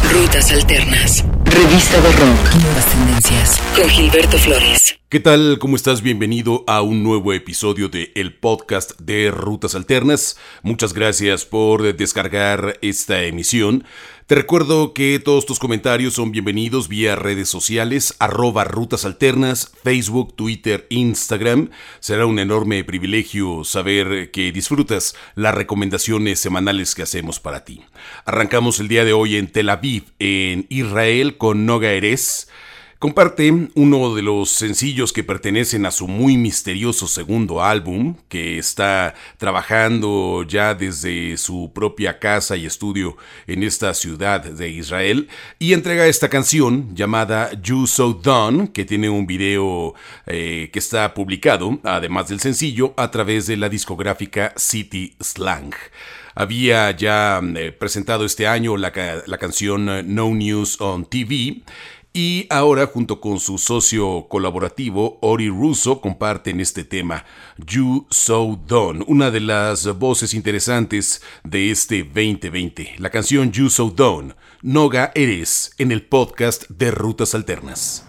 Rutas Alternas. Revista de rock. Nuevas tendencias. Con Gilberto Flores. ¿Qué tal? ¿Cómo estás? Bienvenido a un nuevo episodio de el podcast de Rutas Alternas. Muchas gracias por descargar esta emisión. Te recuerdo que todos tus comentarios son bienvenidos vía redes sociales, @Rutas Alternas, Facebook, Twitter, Instagram. Será un enorme privilegio saber que disfrutas las recomendaciones semanales que hacemos para ti. Arrancamos el día de hoy en Tel Aviv, en Israel, con Noga Erez. Comparte uno de los sencillos que pertenecen a su muy misterioso segundo álbum, que está trabajando ya desde su propia casa y estudio en esta ciudad de Israel, y entrega esta canción llamada You So Done, que tiene un video que está publicado, además del sencillo, a través de la discográfica City Slang. Había ya presentado este año la canción No News on TV, y ahora, junto con su socio colaborativo Ori Russo, comparten este tema, You So Done, una de las voces interesantes de este 2020. La canción You So Done, Noga Erez, en el podcast de Rutas Alternas.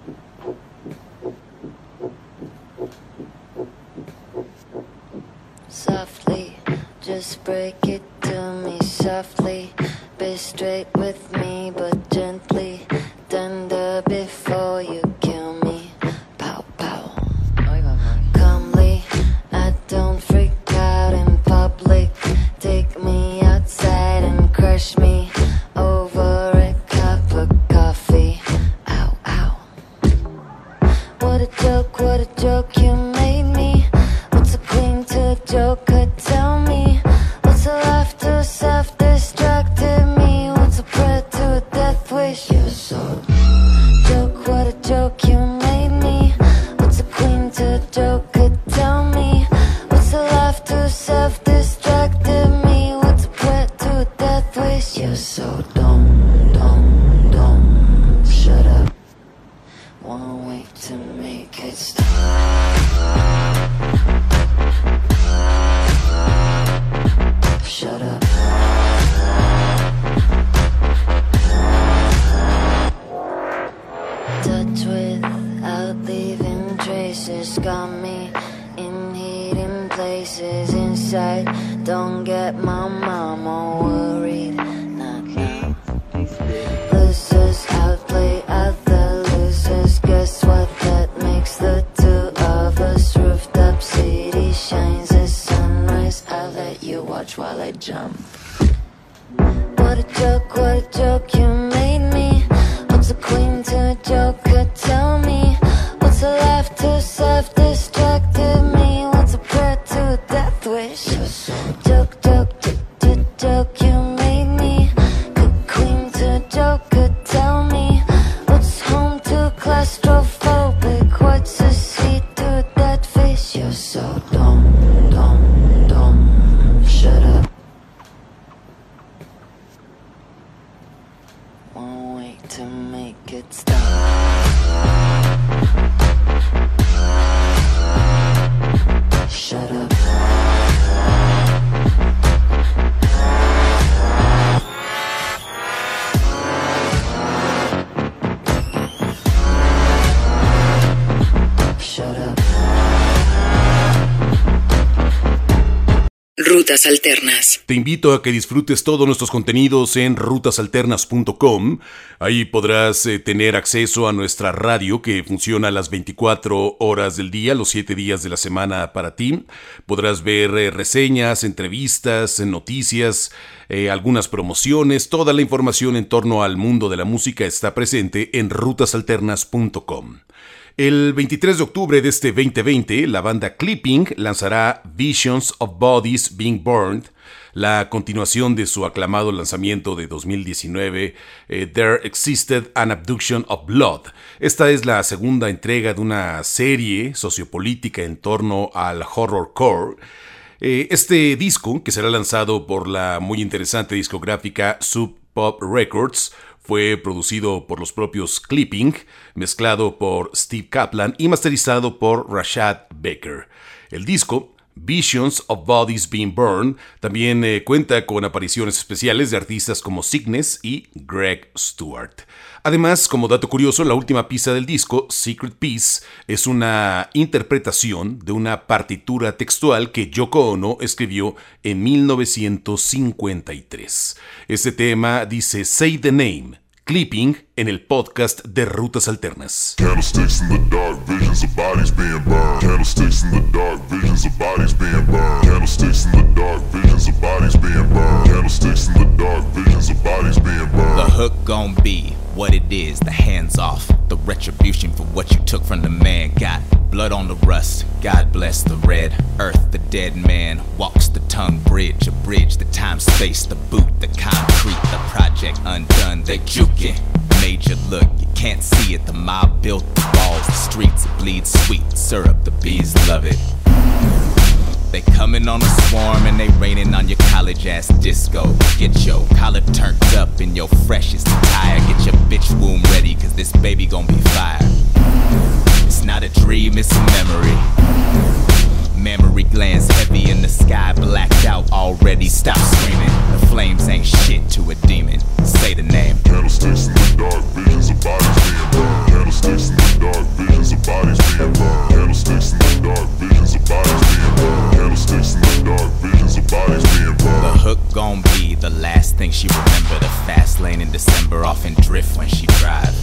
Softly, just break it to me softly. Be straight with me, but gently. Tender before you kill me. Pow, pow. Calmly, I don't freak out in public. Take me outside and crush me over a cup of coffee. Ow, ow. What a joke you made me. What's a queen to a joker? Tell me. What's a laugh to self-destructed me? What's a prayer to a death wish? You're so joke, what a joke you made me. What's a queen to a joker? Tell me. What's a laugh to self-destructed me? What's a prayer to a death wish? You're so dumb. Shut up. One way to make it stop. Shut up. Touch without leaving traces. Got me in hidden places inside. Don't get my mama worried. Not now. Losers outplay other losers. Guess what? That makes the two of us. Roofed up city shines as sunrise. I'll let you watch while I jump. What a joke you made me. What's a queen to a joker? Tell me. What's a laugh to self-destructed me? What's a prayer to a death wish? Joke you made me. Good queen to a joker? Tell me. What's home to claustrophobic? What's a seat to a dead fish? You're so dumb. Shut up. One way to make it stop. Shut up. Shut up. Rutas Alternas. Te invito a que disfrutes todos nuestros contenidos en rutasalternas.com. Ahí podrás tener acceso a nuestra radio que funciona a las 24 horas del día, los 7 días de la semana para ti. Podrás ver reseñas, entrevistas, noticias, algunas promociones. Toda la información en torno al mundo de la música está presente en rutasalternas.com. El 23 de octubre de este 2020, la banda Clipping lanzará Visions of Bodies Being Burned, la continuación de su aclamado lanzamiento de 2019, There Existed an Abduction of Blood. Esta es la segunda entrega de una serie sociopolítica en torno al horrorcore. Este disco, que será lanzado por la muy interesante discográfica Sub Pop Records, fue producido por los propios Clipping, mezclado por Steve Kaplan y masterizado por Rashad Baker. El disco Visions of Bodies Being Burned. También cuenta con apariciones especiales de artistas como Cygnus y Greg Stewart. Además, como dato curioso, la última pista del disco, Secret Piece, es una interpretación de una partitura textual que Yoko Ono escribió en 1953. Este tema dice Say the Name, Clipping, en el podcast de Rutas Alternas. Candlesticks in the dark, visions of bodies being burned. Candlesticks in the dark, visions of bodies being burned. Candlesticks in the dark, visions of bodies being burned. Candlesticks in the dark, visions of bodies being burned. The hook gon' be what it is, the hands off. The retribution for what you took from the man. Got blood on the rust, God bless the red earth. The dead man walks the tongue bridge, a bridge, the time space, the boot, the concrete, the project undone. They juking, made you look, you can't see it. The mob built the walls, the streets, it bleeds sweet syrup, the bees love it. They coming on a swarm and they raining on your college ass disco. Get your collar turned up in your freshest attire. Get your bitch womb ready, cause this baby gon' be fire. It's not a dream, it's a memory. Memory glands heavy in the sky, blacked out already. Stop screaming, the flames ain't shit to a demon. Say the name. Candlesticks in the dark, visions of bodies being burned. Candlesticks in the dark, visions of bodies being burned. Candlesticks in the dark, visions of bodies being burned. Candlesticks in the dark, visions of bodies being burned. The hook gon' be the last thing she remember. The fast lane in December, off in drift when she drive.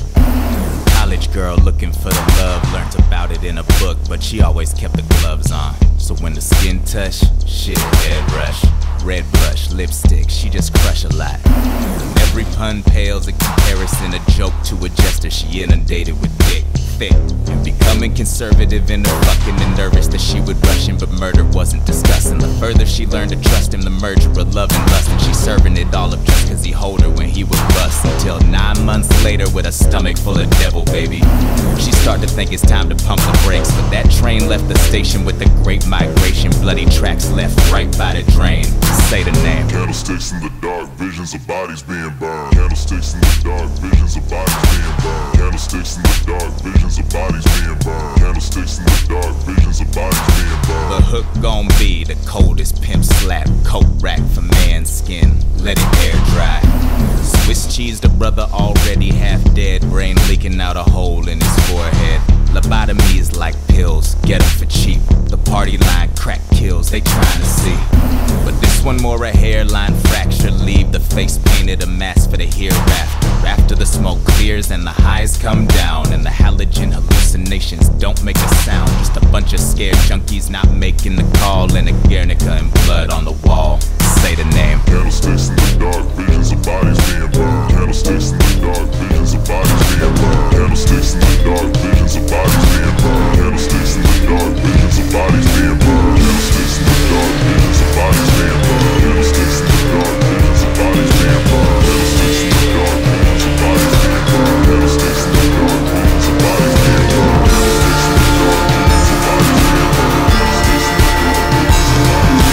College girl looking for the love, learned about it in a book, but she always kept the gloves on. So when the skin touch, shit, head rush. Red blush, lipstick, she just crush a lot. And every pun pales in comparison, a joke to a jester. She inundated with dick, thick, and becoming conservative in her fucking and nervous that she would rush him, but murder wasn't discussing. The further she learned to trust him, the merger of love and lust, and she serving it all up just cause he hold her when he would bust. Until 9 months later with a stomach full of devil baby, she started to think it's time to pump the brakes, but that train left the station with the great migration. Bloody tracks left right by the drain. Say the name. Candlesticks in the dark, visions of bodies being burned. Candlesticks in the dark, visions of bodies being burned. Candlesticks in the dark, visions of bodies being burned. Candlesticks in the dark, visions of bodies being burned. The hook gon' be the coldest pimp slap, coat rack for man's skin, let it air dry. Swiss cheese, the brother already half dead, brain leaking out a hole in his forehead. Lobotomy is like pills, get 'em for cheap. The party line crack kills, they trying to see. But this one more a hairline fracture, leave the face painted a mask for the hereafter. After the smoke clears and the highs come down, and the halogen hallucinations don't make a sound. Just a bunch of scared junkies not making the call, and a Guernica and blood on the wall. Say the name. Candlesticks in the dark, visions of bodies being burned. Candlesticks in the dark, visions of bodies being burned. Candlesticks in the dark, visions of bodies being burned. Candlesticks in the dark, visions of bodies being burned. Candlesticks in the dark, visions of bodies being burned. Candlesticks in the dark, visions of bodies being burned. Candlesticks in the dark, visions of bodies being burned. Candlesticks in the dark, visions of bodies being burned. Candlesticks in the dark, visions of bodies being burned. Candlesticks in the dark, visions of bodies being burned.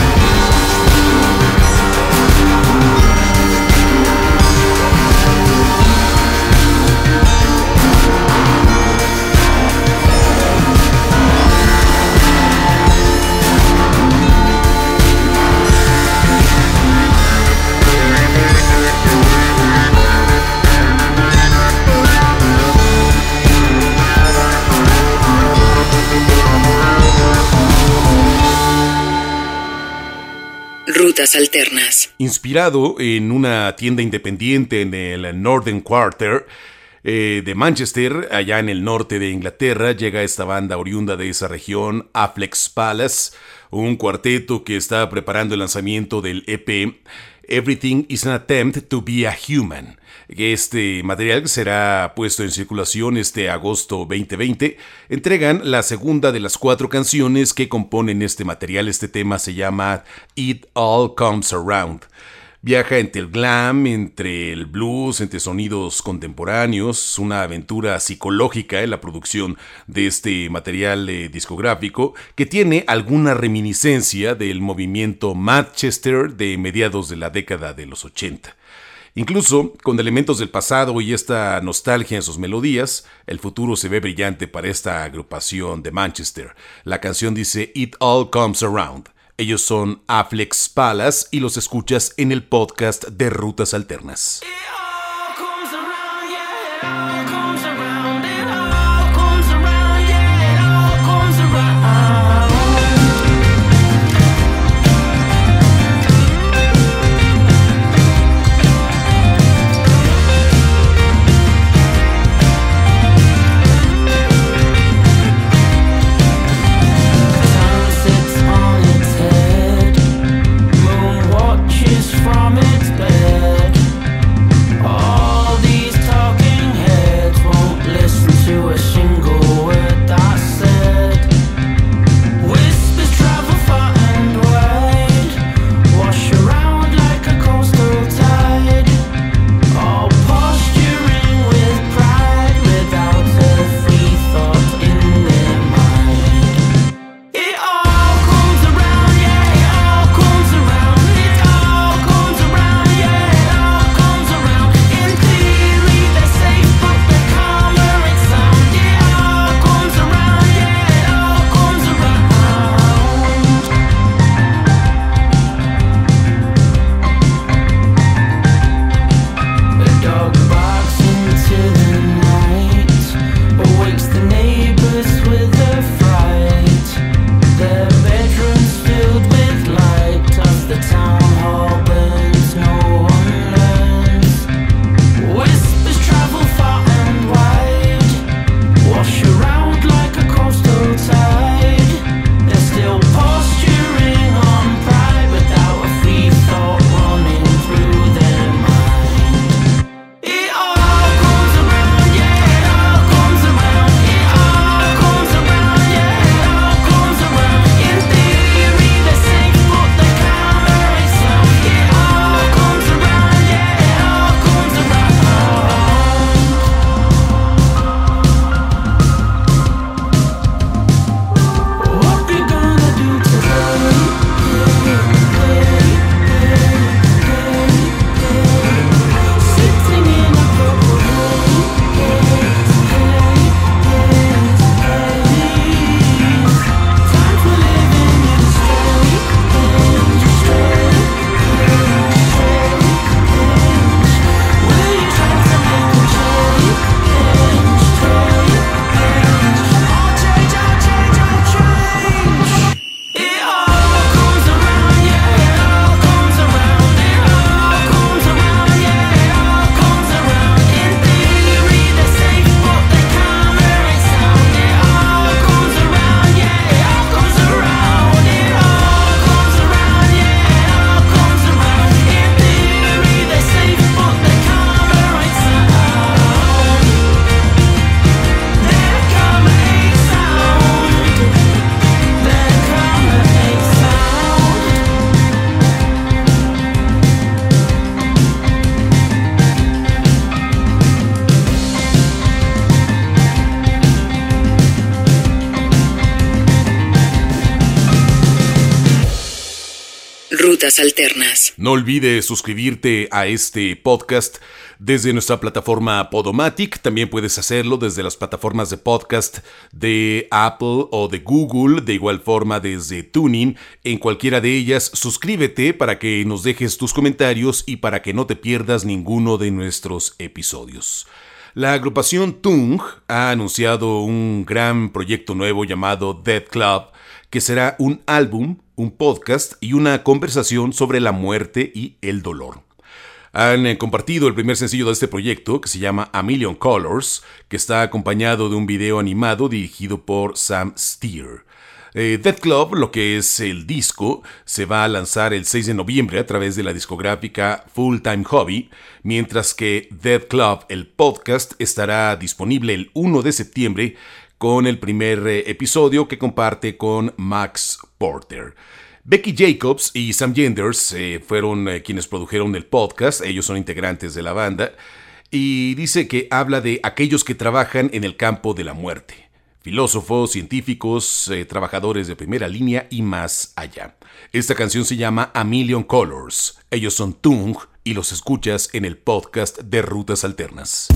Rutas Alternas. Inspirado en una tienda independiente en el Northern Quarter de Manchester, allá en el norte de Inglaterra, llega esta banda oriunda de esa región, Affleck's Palace, un cuarteto que está preparando el lanzamiento del EP Everything is an Attempt to be a Human. Este material será puesto en circulación este agosto 2020. Entregan la segunda de las 4 canciones que componen este material. Este tema se llama It All Comes Around. Viaja entre el glam, entre el blues, entre sonidos contemporáneos, una aventura psicológica en la producción de este material discográfico que tiene alguna reminiscencia del movimiento Manchester de mediados de la década de los 80. Incluso con elementos del pasado y esta nostalgia en sus melodías, el futuro se ve brillante para esta agrupación de Manchester. La canción dice It All Comes Around. Ellos son Afflex Palace y los escuchas en el podcast de Rutas Alternas. From its bed, all these talking heads won't listen to a single word that's said. Whispers travel far and wide, wash around like a coastal tide, all posturing with pride without a free thought in their mind. It all comes around, yeah, it all comes around. Rutas Alternas. No olvides suscribirte a este podcast desde nuestra plataforma Podomatic. También puedes hacerlo desde las plataformas de podcast de Apple o de Google. De igual forma desde TuneIn. En cualquiera de ellas, suscríbete para que nos dejes tus comentarios y para que no te pierdas ninguno de nuestros episodios. La agrupación Tung ha anunciado un gran proyecto nuevo llamado Death Club, que será un álbum, un podcast y una conversación sobre la muerte y el dolor. Han compartido el primer sencillo de este proyecto, que se llama A Million Colors, que está acompañado de un video animado dirigido por Sam Steer. Death Club, lo que es el disco, se va a lanzar el 6 de noviembre a través de la discográfica Full Time Hobby, mientras que Death Club, el podcast, estará disponible el 1 de septiembre con el primer episodio que comparte con Max Porter. Becky Jacobs y Sam Genders fueron quienes produjeron el podcast. Ellos son integrantes de la banda y dice que habla de aquellos que trabajan en el campo de la muerte. Filósofos, científicos, trabajadores de primera línea y más allá. Esta canción se llama A Million Colors. Ellos son Tung y los escuchas en el podcast de Rutas Alternas.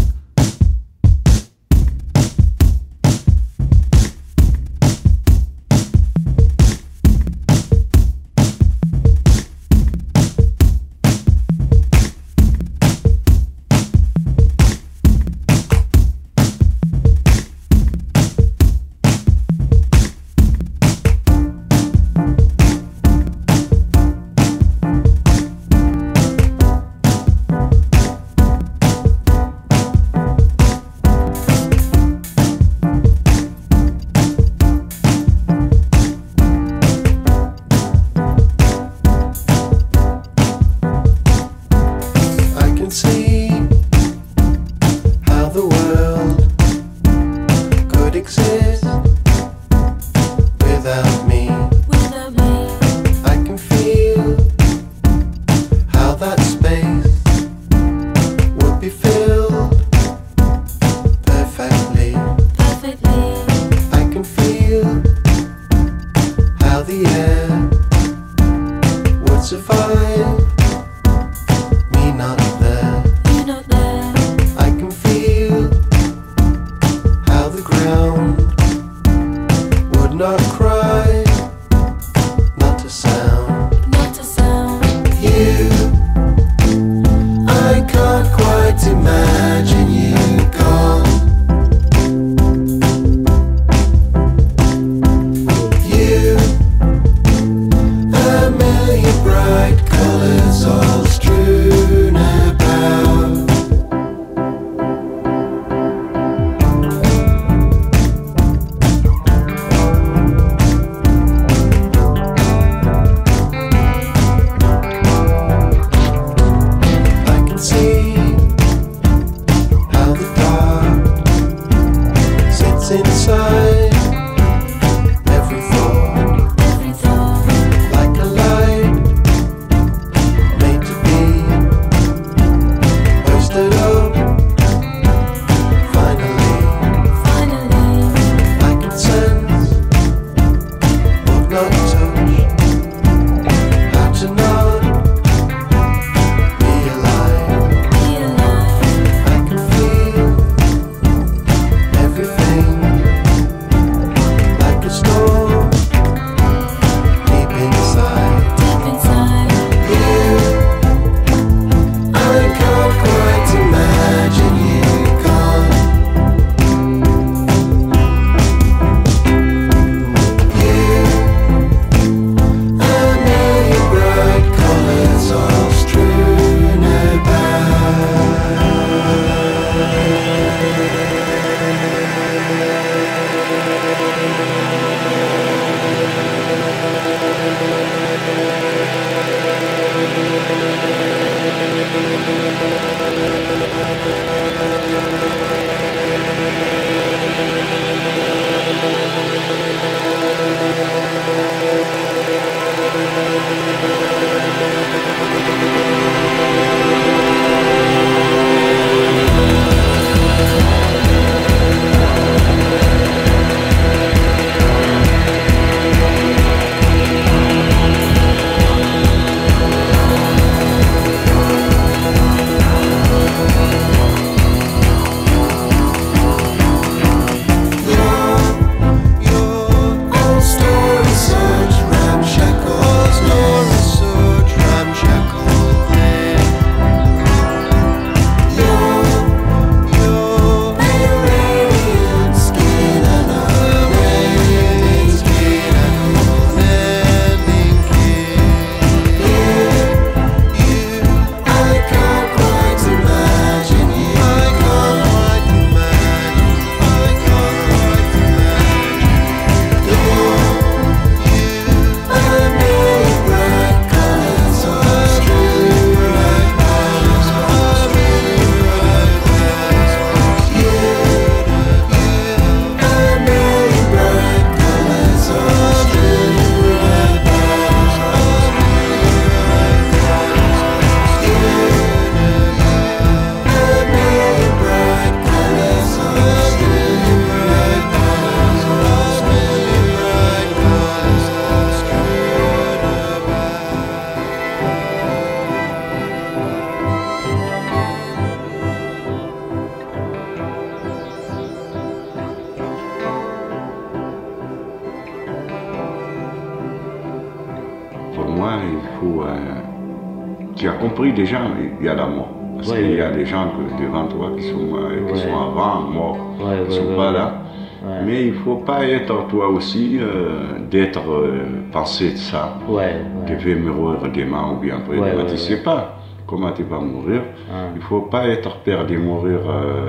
faut... tu as compris déjà, il y a la mort. Parce qu'il y a des gens devant toi qui sont avant morts, qui ne sont pas là. Ouais. Mais il ne faut pas être toi aussi, penser de ça. Tu veux mourir demain ou bien après demain, tu ne sais pas comment tu vas mourir. Il ne faut pas être peur de mourir.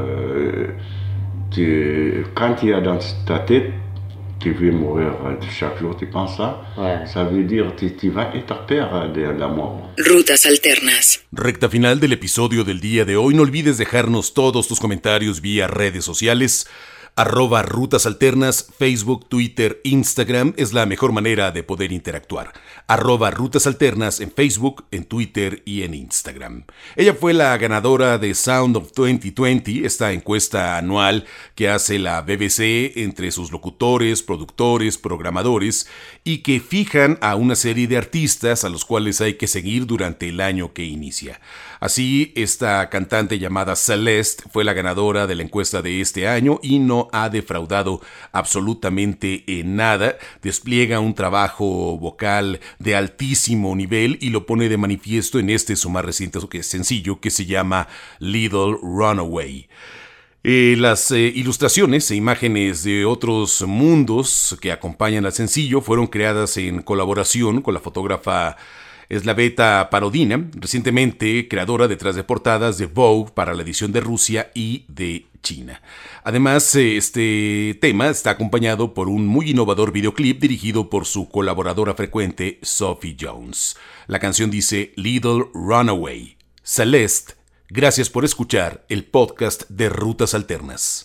Quand tu as dans ta tête, tu veux mourir chaque jour, tu penses ça, ça veut dire que tu vas être peur de la mort. Rutas Alternas. Recta final del episodio del día de hoy. No olvides dejarnos todos tus comentarios vía redes sociales. @Rutas Alternas, Facebook, Twitter, Instagram es la mejor manera de poder interactuar. @Rutas Alternas en Facebook, en Twitter y en Instagram. Ella fue la ganadora de Sound of 2020, esta encuesta anual que hace la BBC entre sus locutores, productores, programadores y que fijan a una serie de artistas a los cuales hay que seguir durante el año que inicia. Así, esta cantante llamada Celeste fue la ganadora de la encuesta de este año y no ha defraudado absolutamente en nada. Despliega un trabajo vocal de altísimo nivel y lo pone de manifiesto en su más reciente sencillo que se llama Little Runaway. Las ilustraciones e imágenes de otros mundos que acompañan al sencillo fueron creadas en colaboración con la fotógrafa Slaveta Parodina, recientemente creadora detrás de portadas de Vogue para la edición de Rusia y de China. Además, este tema está acompañado por un muy innovador videoclip dirigido por su colaboradora frecuente Sophie Jones. La canción dice Little Runaway. Celeste, gracias por escuchar el podcast de Rutas Alternas.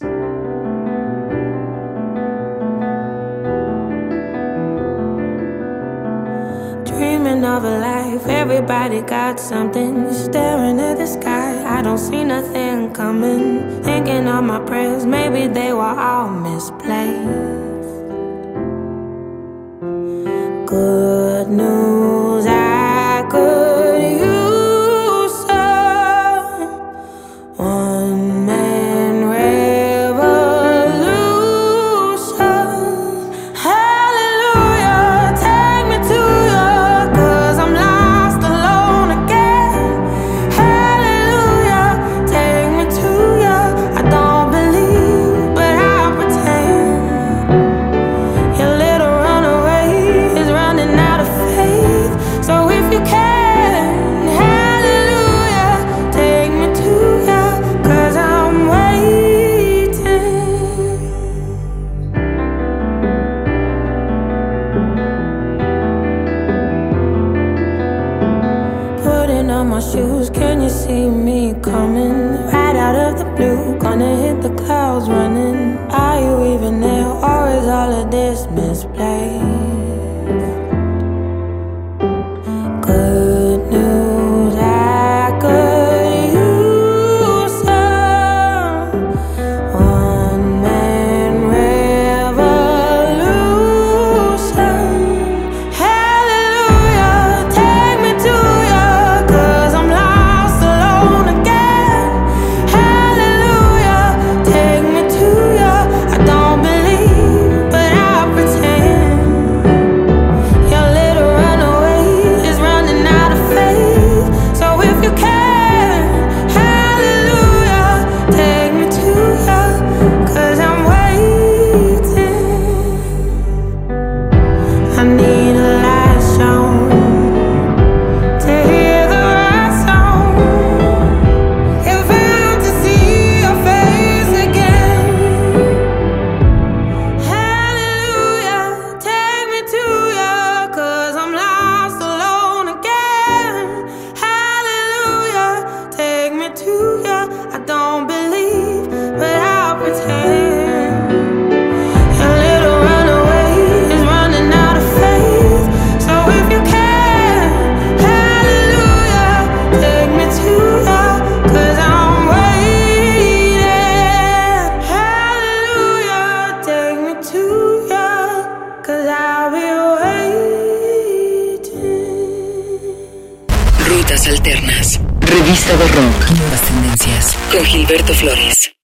Dreaming of a life, everybody got something. Staring at the sky, I don't see nothing coming. Thinking of my prayers, maybe they were all misplaced. Good news, I could use some one-man revolution. Hallelujah, take me to you. My shoes, can you see me coming? Right out of the blue, gonna hit the clouds running. Are you even there, or is all of this misplaced? Good news, I could use some one-man revolution. Hallelujah, take me to you. Rutas Alternas. Revista de rock. Nuevas tendencias. Con Gilberto Flores.